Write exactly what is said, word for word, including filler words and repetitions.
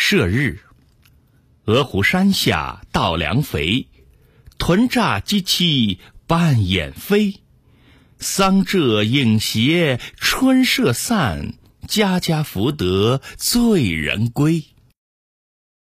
射日，鹅湖山下稻粱肥，豚乍鸡栖半掩飞。桑柘影斜春社散，家家福得醉人归。